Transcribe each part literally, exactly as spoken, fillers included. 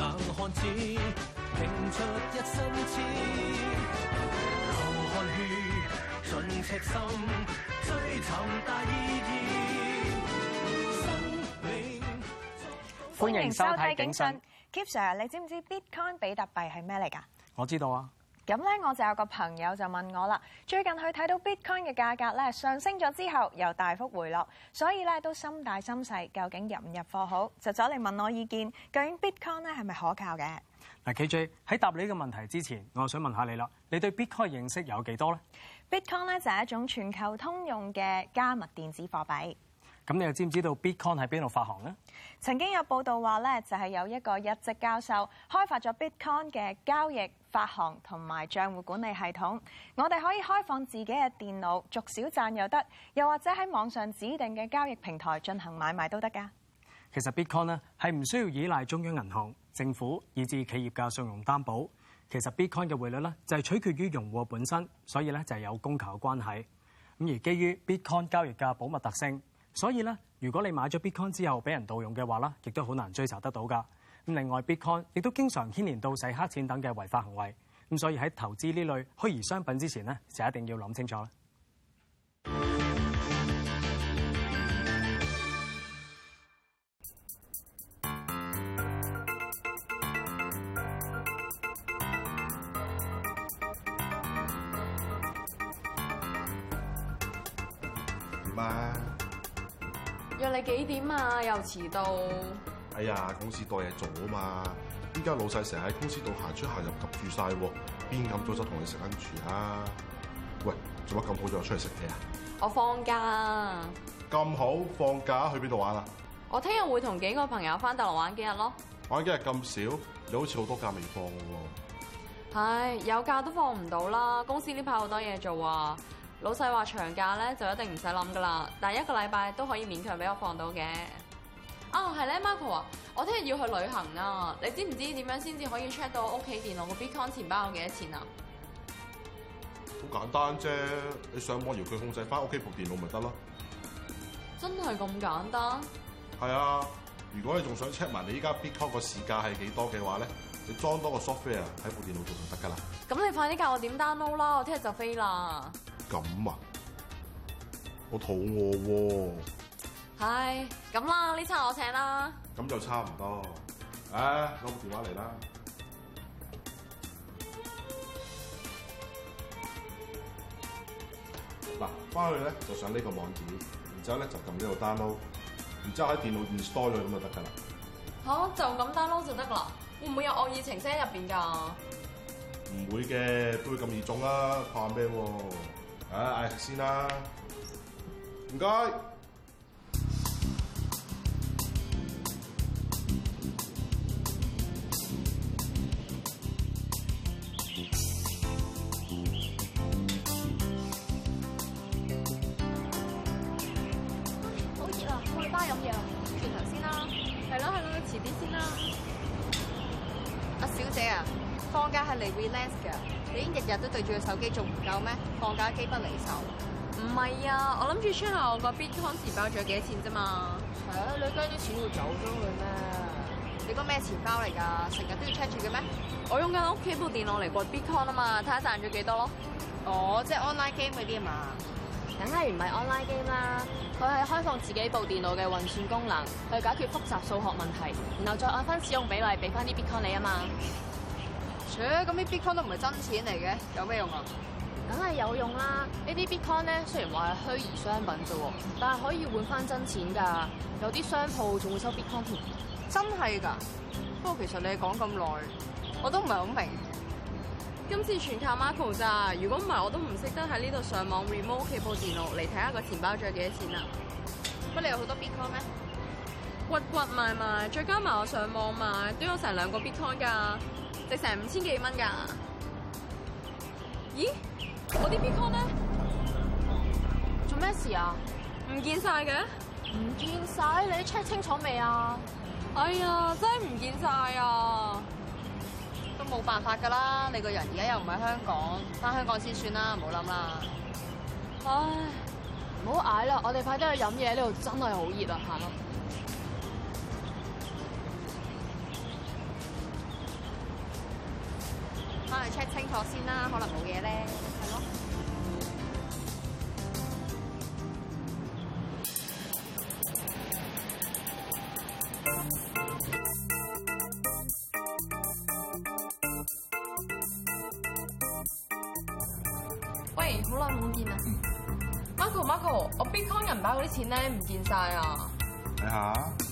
硬漢子，拼出一身刺，流汗血，盡赤心，追尋大意義。生命歡迎收睇警訊。 Keep Sir， 你知唔知 Bitcoin 比特幣係咩嚟㗎？ 我知道啊。 咁咧，我就有個朋友就問我啦，最近佢睇到 Bitcoin 嘅價格咧上升咗之後，又大幅回落，所以咧都心大心細，究竟入唔入貨好？就走嚟問我意見，究竟 Bitcoin 咧係咪可靠嘅？ 嗱 ，K J 喺答你呢個問題之前，我想問下你啦，你對 Bitcoin 認識有幾多咧 ？Bitcoin 咧就係一種全球通用嘅加密電子貨幣。 咁你又知唔知道 Bitcoin 喺邊度發行呢？ 曾經有報道話咧，就係有一個日籍教授開發咗 Bitcoin 嘅交易、發行同埋帳戶管理系統。我哋可以開放自己嘅電腦，逐少賺又得，又或者喺網上指定嘅交易平台進行買賣都得㗎。 其實 Bitcoin 咧係唔需要依賴中央銀行、政府以至企業嘅信用擔保。其實 Bitcoin 嘅匯率咧就係取決於用戶本身，所以咧就係有供求嘅關係。咁而基於 Bitcoin 交易嘅保密特性，所以咧，如果你買咗 Bitcoin 之後俾人盜用嘅話啦，亦都好難追查得到㗎。咁另外 Bitcoin 亦都經常牽連到洗黑錢等嘅違法行為。咁所以喺投資呢類虛擬商品之前咧，就一定要諗清楚啦。 嘛？ 約你幾點啊？又遲到。 哎呀，公司多嘢做啊嘛！依家老細成日喺公司度行出行入及住晒喎，邊咁早就同你食緊住啊？喂，做乜咁好就出嚟食嘢啊？ 我放假。 咁好放假去邊度玩啊？ 我聽日會同幾個朋友翻大陸玩幾日咯。 玩幾日咁少？你好似好多假未放嘅喎。 唉，有假都放唔到啦，公司呢排好多嘢做啊。老細話長假咧就一定唔使諗噶啦，但係一個禮拜都可以勉強俾我放到嘅。啊，係咧 ，Marco 啊，我聽日要去旅行啊，你知唔知點樣先至可以 check 到屋企電腦個 Bitcoin 錢包有幾多錢啊？ 好簡單啫，你上網遙距控制翻屋企部電腦咪得咯。 真係咁簡單？ 係啊，如果你仲想 check 埋你依家 Bitcoin 個市價係幾多嘅話咧，你裝多個 software 喺部電腦度就得㗎啦。咁你快啲教我點 download 啦，我聽日就飛啦。 咁啊，我肚餓喎。 唉，咁啦，呢餐我請啦。 咁就差唔多。唉，攞部電話嚟啦。嗱，翻去咧就上呢個網址，然之後咧就撳呢個 download，然之後喺電腦 install 咗咁就得㗎啦。吓，就咁 download 就得㗎啦？會唔會有惡意程式喺入邊㗎？唔會嘅，都會咁易中啦，怕咩喎？唉，嗌食先啦，唔該。 好熱啊，我去巴飲嘢啊，轉頭先啦。係咯係咯，遲啲先啦。阿小姐啊，放假係嚟 relax 㗎。你已經日日都對住個手機，仲唔夠咩？放假機不離手。 唔係啊，我諗住 check 下我個 Bitcoin 錢包仲有幾多錢啫嘛。 係啊，你驚啲錢會走咗去咩？你個咩錢包嚟㗎？成日都要 check 住嘅咩？ 我用緊屋企部電腦嚟過 Bitcoin 啊嘛，睇下賺咗幾多咯。 哦，即係 online game 嗰啲啊嘛。梗係唔係 online game 啦，佢係開放自己部電腦嘅運算功能，去解決複雜數學問題，然後再按翻使用比例俾翻啲 Bitcoin 你啊嘛。切，咁啲 Bitcoin 都唔係真錢嚟嘅，有咩用啊？梗係有用啦！呢啲 Bitcoin 咧，雖然話係虛擬商品啫喎，但係可以換翻真錢㗎。有啲商鋪仲會收 Bitcoin 添。真係㗎？不過其實你講咁耐，我都唔係好明。 今次全靠 Marco 咋，如果唔係我都唔識得喺呢度上網 remote 屋企部電腦嚟睇下個錢包仲有幾多錢啊！ 乜你有好多 Bitcoin 咩？ 屈屈埋埋，再加埋我上網買，都有成兩個 Bitcoin 㗎，值成五千幾蚊㗎。咦？我啲 Bitcoin 咧？ 做咩事啊？ 唔見晒嘅？ 唔見晒？你 check 清楚未啊？ 哎呀，真係唔見晒啊！ 都冇辦法㗎啦，你個人而家又唔喺香港，翻香港先算啦，唔好諗啦。 唉， 唔好嗌啦，我哋快啲去飲嘢，呢度真係好熱啊，行啦。 去 check 清楚先啦，可能冇嘢咧。係咯。 喂，好耐冇見啊！ 嗯 Marco Marco，我 Bitcoin 銀包嗰啲錢咧唔見晒啊！ 睇下，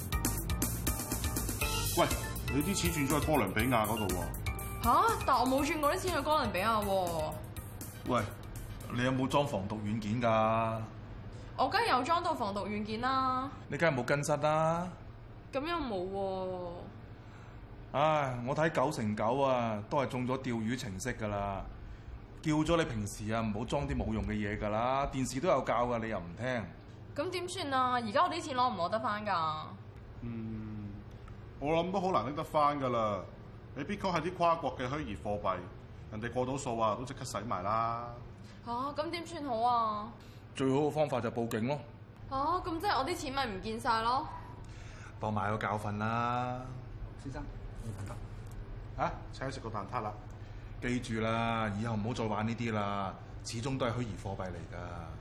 喂，你啲錢轉咗去哥倫比亞嗰度喎。 吓？但我冇轉過啲錢去哥倫比亞喎。 喂，你有冇裝防毒軟件㗎？ 我梗係有裝到防毒軟件啦。 你梗係冇更新啦。 咁又冇喎。 唉，我睇九成九啊，都係中咗釣魚程式㗎啦。叫咗你平時啊唔好裝啲冇用嘅嘢㗎啦，電視都有教㗎，你又唔聽。 咁點算啊？而家我啲錢攞唔攞得翻㗎？ 嗯，我諗都好難拎得翻㗎啦。你 Bitcoin 係啲跨國嘅虛擬貨幣，人哋過到數啊都即刻洗埋啦。 吓？咁點算好啊？ 最好嘅方法就報警咯。 吓？咁即係我啲錢咪唔見晒咯？ 當埋個教訓啦。 先生，你等等。 啊，請食個蛋撻啦。 記住啦，以後唔好再玩呢啲啦，始終都係虛擬貨幣嚟㗎。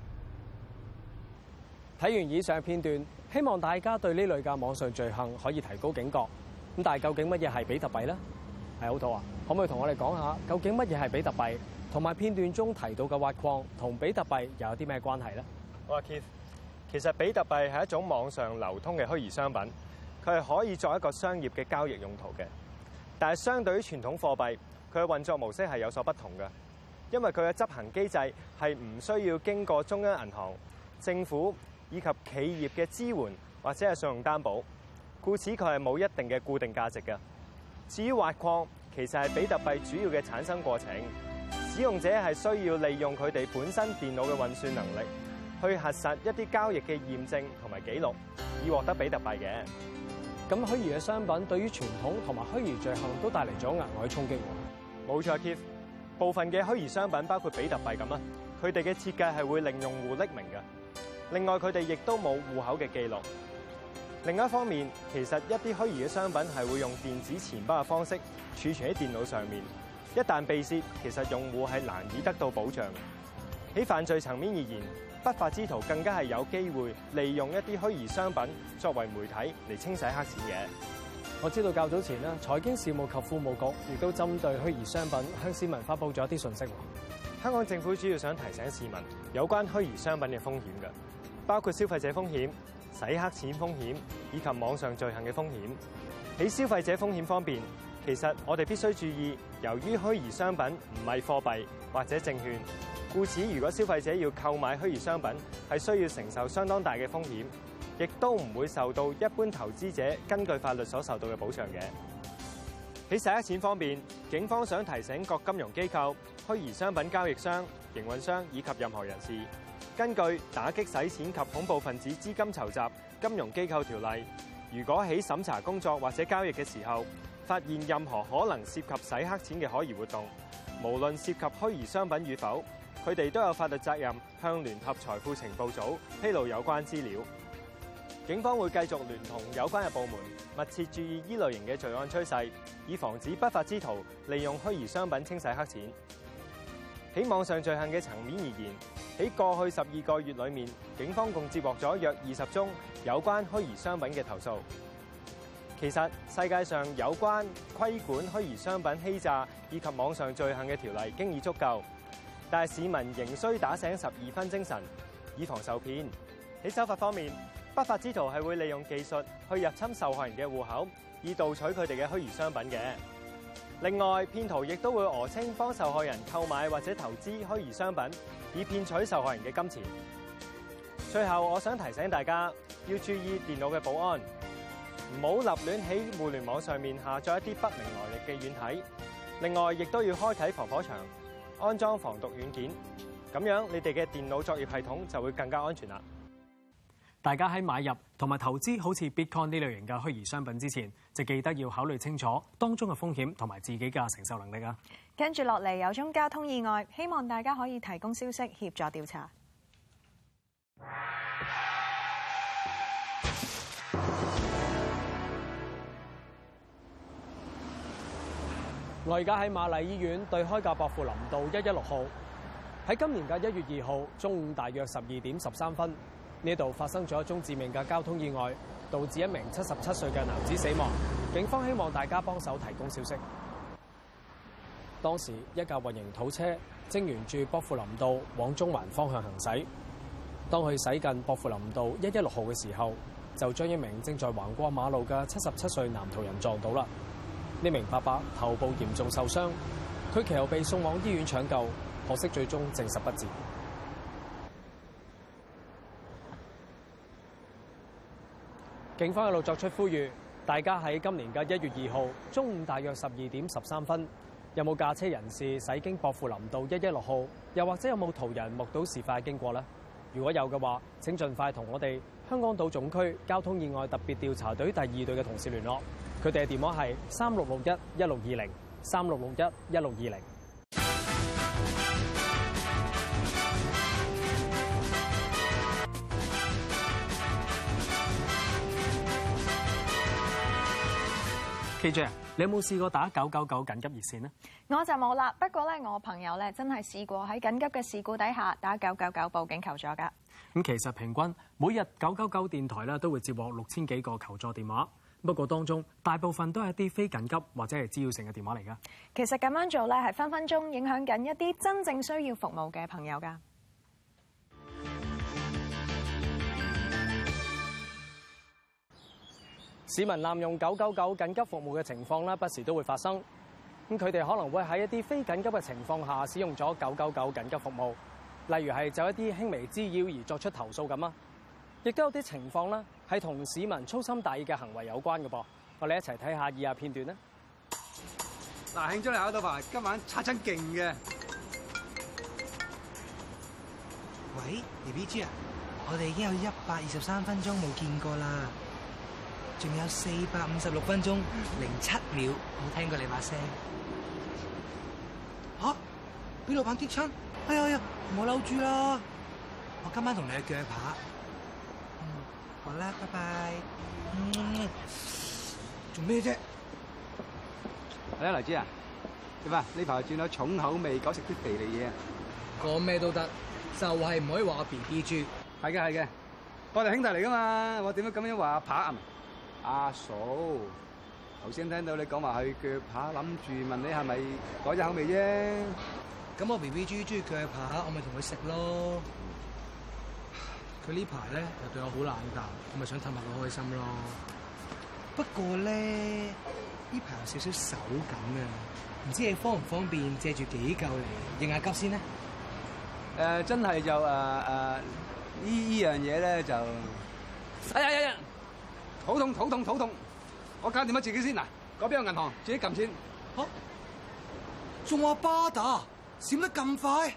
睇完以上嘅片段，希望大家對呢類嘅網上罪行可以提高警覺。咁但係究竟乜嘢係比特幣咧？係好圖啊，可唔可以同我哋講下究竟乜嘢係比特幣，同埋片段中提到嘅挖礦同比特幣又有啲咩關係咧？ 我話 Keith，其實比特幣係一種網上流通嘅虛擬商品，佢係可以作一個商業嘅交易用途嘅。但係相對於傳統貨幣，佢嘅運作模式係有所不同嘅，因為佢嘅執行機制係唔需要經過中央銀行、政府以及企業嘅支援或者係信用擔保，故此佢係冇一定嘅固定價值嘅。至於挖礦，其實係比特幣主要嘅產生過程，使用者係需要利用佢哋本身電腦嘅運算能力，去核實一啲交易嘅驗證同埋記錄，以獲得比特幣嘅。 咁虛擬嘅商品對於傳統同埋虛擬罪行都帶嚟咗額外衝擊喎。 冇錯 Keith， 部分嘅虛擬商品包括比特幣咁啦，佢哋嘅設計係會令用戶匿名嘅。另外，佢哋亦都冇戶口嘅記錄。另一方面，其實一啲虛擬嘅商品係會用電子錢包嘅方式儲存喺電腦上面。一旦被竊，其實用戶係難以得到保障嘅。喺犯罪層面而言，不法之徒更加係有機會利用一啲虛擬商品作為媒體嚟清洗黑錢嘅。 我知道較早前咧，財經事務及庫務局亦都針對虛擬商品向市民發布咗一啲信息。 香港政府主要想提醒市民有關虛擬商品嘅風險嘅，包括消費者風險、洗黑錢風險以及網上罪行嘅風險。喺消費者風險方面，其實我哋必須注意，由於虛擬商品唔係貨幣或者證券，故此如果消費者要購買虛擬商品，係需要承受相當大嘅風險，亦都唔會受到一般投資者根據法律所受到嘅保障嘅。喺洗黑錢方面，警方想提醒各金融機構、虛擬商品交易商、營運商以及任何人士，根據《打擊洗錢及恐怖分子資金籌集金融機構條例》，如果喺審查工作或者交易嘅時候，發現任何可能涉及洗黑錢嘅可疑活動，無論涉及虛擬商品與否，佢哋都有法律責任向聯合財富情報組披露有關資料。警方會繼續聯同有關嘅部門，密切注意呢類型嘅罪案趨勢，以防止不法之徒利用虛擬商品清洗黑錢。喺網上罪行嘅層面而言，喺過去十二個月裏面，警方共接獲咗約二十宗有關虛擬商品嘅投訴。其實世界上有關規管虛擬商品欺詐以及網上罪行嘅條例經已足夠，但係市民仍需打醒十二分精神，以防受騙。喺手法方面，不法之徒係會利用技術去入侵受害人嘅戶口，以盜取佢哋嘅虛擬商品嘅。另外，騙徒亦都會訛稱幫受害人購買或者投資虛擬商品，以騙取受害人嘅金錢。最後，我想提醒大家要注意電腦嘅保安，唔好立亂喺互聯網上面下載一啲不明來歷嘅軟體。另外，亦都要開啟防火牆，安裝防毒軟件，咁樣你哋嘅電腦作業系統就會更加安全啦。 大家喺買入同埋投資好似 Bitcoin 呢類型嘅虛擬商品之前，就記得要考慮清楚當中嘅風險同埋自己嘅承受能力啊！ 跟住落嚟有宗交通意外，希望大家可以提供消息協助調查。 我而家喺瑪麗醫院對開嘅薄扶林道一一六號，喺今年嘅一月二號中午大約十二點十三分，呢度發生咗一宗致命嘅交通意外，導致一名七十七歲嘅男子死亡。警方希望大家幫手提供消息。當時一架混凝土車正沿住薄扶林道往中環方向行駛，當佢駛近薄扶林道一一六號嘅時候，就將一名正在橫過馬路嘅七十七歲男途人撞到啦。呢名伯伯頭部嚴重受傷，佢其後被送往醫院搶救，可惜最終證實不治。警方一路作出呼籲，大家喺今年嘅一月二號中午大約十二點十三分，有冇駕車人士駛經薄扶林道一一六號，又或者有冇途人目睹事發經過呢？如果有嘅話，請盡快同我哋香港島總區交通意外特別調查隊第二隊嘅同事聯絡。佢哋嘅電話係三六六一一六二零三六六一一六二零。K J 啊，你有冇試過打九九九緊急熱線呢？ 我就冇啦，不過咧，我朋友咧真係試過喺緊急嘅事故底下打九九九報警求助㗎。 咁其實平均每日九九九電台咧都會接獲六千幾個求助電話，不過當中大部分都係一啲非緊急或者係滋擾性嘅電話嚟㗎。 其實咁樣做咧係分分鐘影響緊一啲真正需要服務嘅朋友㗎。 市民濫用九九九緊急服務嘅情況咧，不時都會發生。咁佢哋可能會喺一啲非緊急嘅情況下使用咗九九九緊急服務，例如係就一啲輕微滋擾而作出投訴咁啊。亦都有啲情況咧係同市民粗心大意嘅行為有關嘅噃。我哋一齊睇下以下片段啦。 嗱，慶祝你考到牌，今晚擦親勁嘅。 喂 ，B B G 啊，我哋已經有一百二十三分鐘冇見過啦。仲有四百五十六分鐘零七秒冇聽過你把聲。吓，俾老闆激親！哎呀呀，唔好嬲住啦！我今晚同你去鋸扒。嗯，好啦，拜拜。嗯，做咩啫？ 係啊，黎姿啊，點啊？呢排轉咗重口味，改食啲肥膩嘢啊！ 講咩都得，就係唔可以話我 B B G。 係嘅，係嘅，我哋兄弟嚟噶嘛，我點解咁樣話阿扒啊？阿嫂，頭先聽到你講話去鋸扒，諗住問你係咪改咗口味啫？ 咁我 B B G 中意鋸扒，我咪同佢食咯。佢呢排咧又對我好冷淡，我咪想氹下佢開心咯。不過咧呢排有少少手感啊，唔知你方唔方便借住幾嚿嚟應下急先咧？誒、 呃，真係就誒誒、呃呃、呢呢樣嘢咧就，哎呀呀呀！肚痛肚痛肚痛，我搞掂咗自己先嗱，嗰邊有銀行，自己撳錢。 嚇、啊！仲話巴打閃得咁快？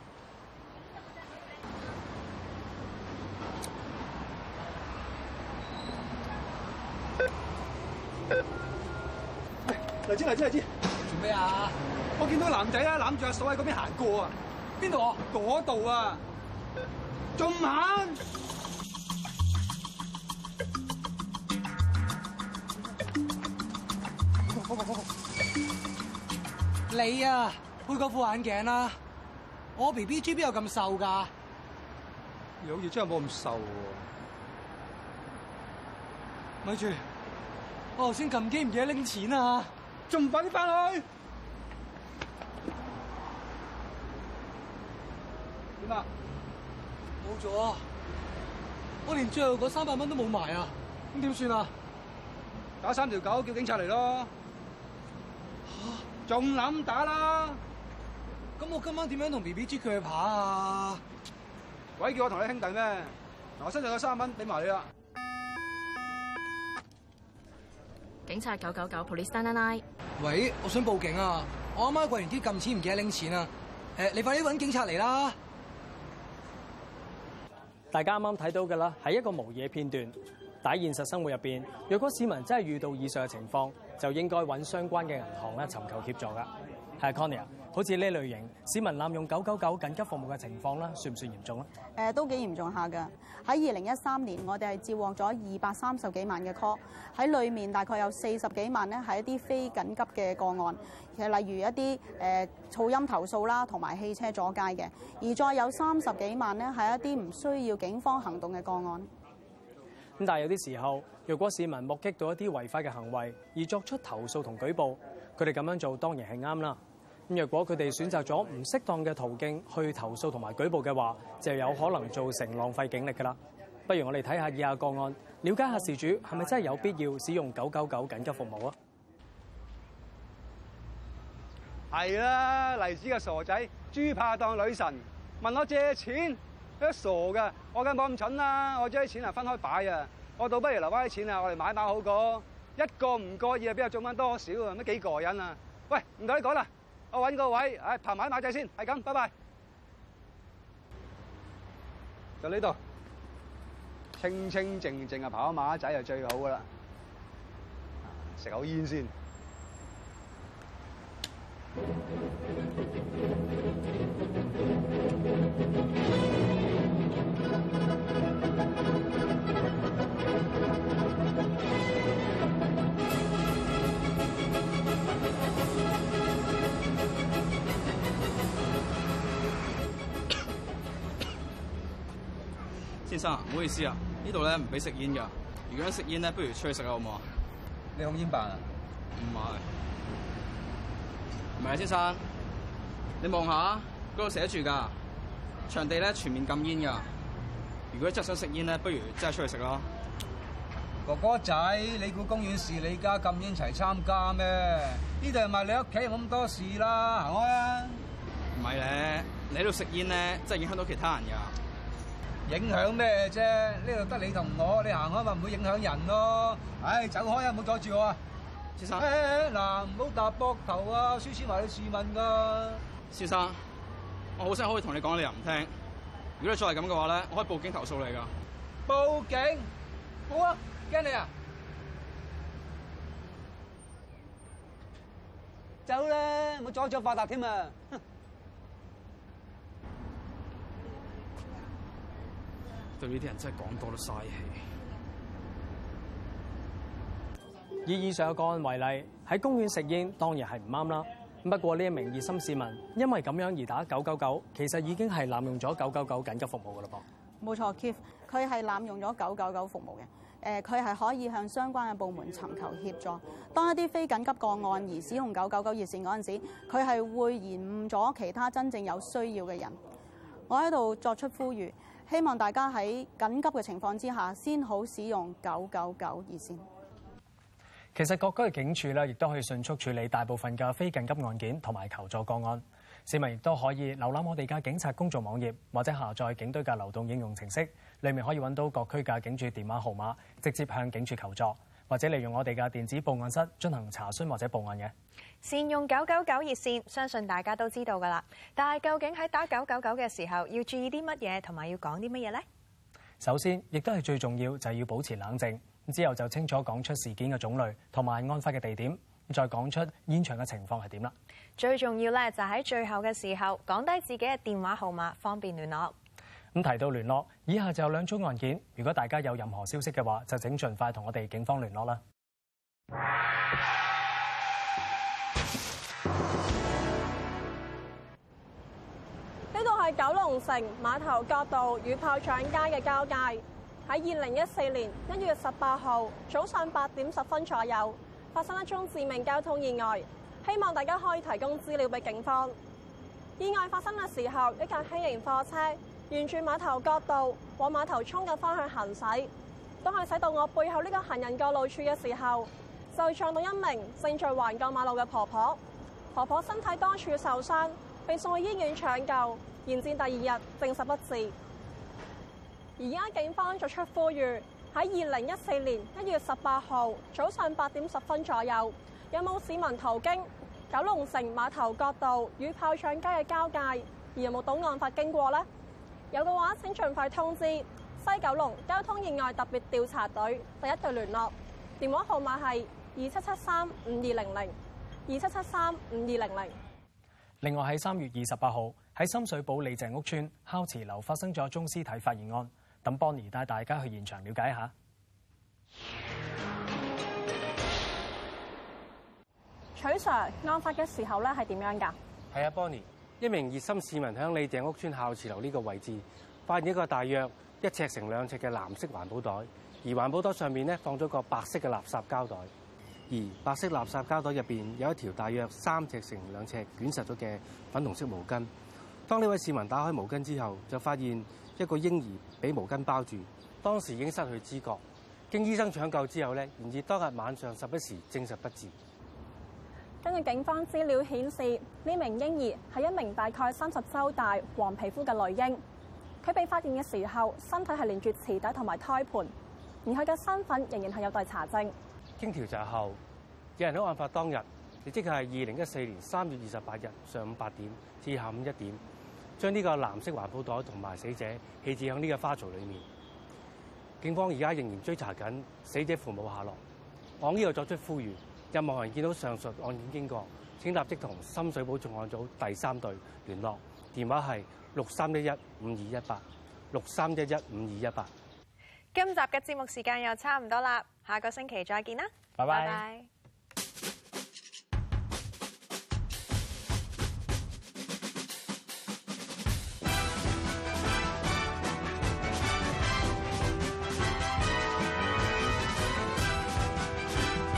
黎姿黎姿黎姿， 做咩啊？ 我見到個男仔啊攬住阿嫂喺嗰邊行過啊！邊度啊？嗰度啊！仲唔行？ 你啊，配嗰副眼鏡啦！我 B B G 邊有咁瘦㗎？ 你好似真係冇咁瘦喎。 咪住，我頭先撳機唔記得拎錢啊！ 仲唔快啲翻去？點啊？ 冇咗，我連最後嗰三百蚊都冇埋啊！咁點算啊？ 打三條九叫警察嚟咯！仲諗打啦？ 咁我今晚點樣同 B B G 鋸扒啊？ 鬼叫我同你兄弟咩？嗱，我身上有三蚊，俾埋你啦。 警察九九九 Police nine nine nine。 喂，我想報警啊！我阿媽過完啲撳錢唔記得拎錢啊！誒，你快啲搵警察嚟啦！ 大家啱啱睇到嘅啦，係一個模擬嘅片段。但喺現實生活入邊，若果市民真係遇到以上嘅情況，就應該揾相關嘅銀行咧尋求協助㗎。 係 Connie 啊，好似呢類型市民濫用九九九緊急服務嘅情況啦，算唔算嚴重咧？ 誒、呃、都幾嚴重下㗎。喺二零一三年，我哋係接獲咗二百三十幾萬嘅 call， 喺裡面大概有四十幾萬咧係一啲非緊急嘅個案，其實例如一啲誒、呃、噪音投訴啦，同埋汽車阻街嘅，而再有三十幾萬咧係一啲唔需要警方行動嘅個案。 咁但係有啲時候，若果市民目擊到一啲違法嘅行為而作出投訴同舉報，佢哋咁樣做當然係啱啦。咁若果佢哋選擇咗唔適當嘅途徑去投訴同埋舉報嘅話，就有可能造成浪費警力㗎啦。不如我哋睇下以下個案，了解下事主係咪真係有必要使用九九九緊急服務啊？ 係啦，黎子嘅傻仔，豬怕當女神，問我借錢，都傻㗎。我梗冇咁蠢啦，我將啲錢係分開擺啊。我倒不如留翻啲錢啊，我哋買馬好過。一個唔覺意啊，邊有中翻多少啊？乜幾過癮啊？喂，唔同你講啦。我揾個位，唉，爬埋馬仔先，係咁，拜拜。就呢度，清清靜靜啊，跑馬仔就最好噶啦。食口煙先。 先生，唔好意思啊，呢度咧唔俾食煙㗎。如果想食煙咧，不如出去食啦，好唔好啊？ 你控煙辦啊？ 唔係，唔係啊，先生，你望下嗰度寫住㗎，場地咧全面禁煙㗎。如果真係想食煙咧，不如真係出去食咯。 哥哥仔，你估公園是你家禁煙齊參加咩？呢度係咪你屋企，冇咁多事啦，行開啊！ 唔係咧，你喺度食煙咧，真係影響到其他人㗎。 影響咩啫？呢度得你同我，你行開咪唔會影響人咯。唉，走開啊！唔好阻住我啊！ 先生， 嗱，唔好搭膊頭啊！輸錢埋你試問㗎。 先生，我好聲可以同你講，你又唔聽。如果你再係咁嘅話咧，我可以報警投訴你㗎。 報警？好啊，驚你啊！走啦，唔好阻住我發達添啊！ 對呢啲人真係講多都嘥氣。 以以上嘅個案為例，喺公園食煙當然係唔啱啦。不過呢一名熱心市民因為咁樣而打九九九，其實已經係濫用咗九九九緊急服務㗎啦噃。 冇錯 Keith 佢係濫用咗九九九服務嘅。誒，佢係可以向相關嘅部門尋求協助。當一啲非緊急個案而使用九九九熱線嗰陣時，佢係會延誤咗其他真正有需要嘅人。我喺度作出呼籲，希望大家喺緊急嘅情況之下，先好使用九九九熱線。 其實各區嘅警署咧，亦都可以迅速處理大部分嘅非緊急案件同埋求助個案。市民亦都可以瀏覽我哋嘅警察公眾網頁，或者下載警隊嘅流動應用程式，裏面可以揾到各區嘅警署電話號碼，直接向警署求助，或者利用我哋嘅電子報案室進行查詢或者報案嘅。 善用九九九熱線，相信大家都知道㗎啦。但係究竟喺打九九九嘅時候，要注意啲乜嘢，同埋要講啲乜嘢呢？ 首先，亦都係最重要，就係要保持冷靜。之後就清楚講出事件嘅種類同埋案發嘅地點，再講出現場嘅情況係點啦。最重要咧就喺最後嘅時候講低自己嘅電話號碼，方便聯絡。咁提到聯絡，以下就有兩宗案件，如果大家有任何消息嘅話，就請盡快同我哋警方聯絡啦。 呢度係九龍城馬頭角道與炮仗街嘅交界。喺二零一四年一月十八號早上八點十分左右，發生一宗致命交通意外，希望大家可以提供資料俾警方。意外發生嘅時候，一架輕型貨車沿住馬頭角道往馬頭涌嘅方向行駛，當係駛到我背後呢個行人過路處嘅時候，就撞到一名正在橫過馬路嘅婆婆。婆婆身體多處受傷，被送去醫院搶救，延至第二日證實不治。而家警方作出呼籲，喺二零一四年一月十八號早上八點十分左右，有冇市民途經九龍城馬頭角道與炮仗街嘅交界，而有冇到案發經過呢？有嘅話，請盡快通知西九龍交通意外特別調查隊第一隊聯絡，電話號碼係二七七三五二零零二七七三五二零零。 另外喺三月二十八號喺深水埗李鄭屋村孝慈樓發生咗宗屍體發現案，等 Bonnie 帶大家去現場了解一下。 取 Sir， 案發嘅時候咧係點樣㗎？ 係啊 ，Bonnie， 一名熱心市民喺李鄭屋村孝慈樓呢個位置發現一個大約一尺乘兩尺嘅藍色環保袋，而環保袋上面咧放咗個白色嘅垃圾膠袋，而白色垃圾膠袋入邊有一條大約三尺乘兩尺捲實咗嘅粉紅色毛巾。當呢位市民打開毛巾之後，就發現一個嬰兒俾毛巾包住，當時已經失去知覺。經醫生搶救之後咧，然而當日晚上十一時證實不治。 根據警方資料顯示，呢名嬰兒係一名大概三十週大、黃皮膚嘅女嬰。佢被發現嘅時候，身體係連住臍帶同埋胎盤，而佢嘅身份仍然係有待查證。 經調查後，有人喺案發當日，亦即係二零一四年三月二十八日上午八點至下午一點，將呢個藍色環保袋同埋死者棄置喺呢個花槽裡面。警方而家仍然追查緊死者父母下落。我呢度作出呼籲。任何人見到上述案件經過，請立即同深水埗重案組第三隊聯絡，電話係六三一一五二一八六三一一五二一八。 今集嘅節目時間又差唔多啦，下個星期再見啦， 拜拜。 拜拜。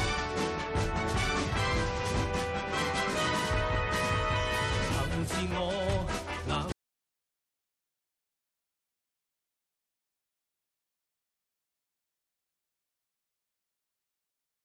自我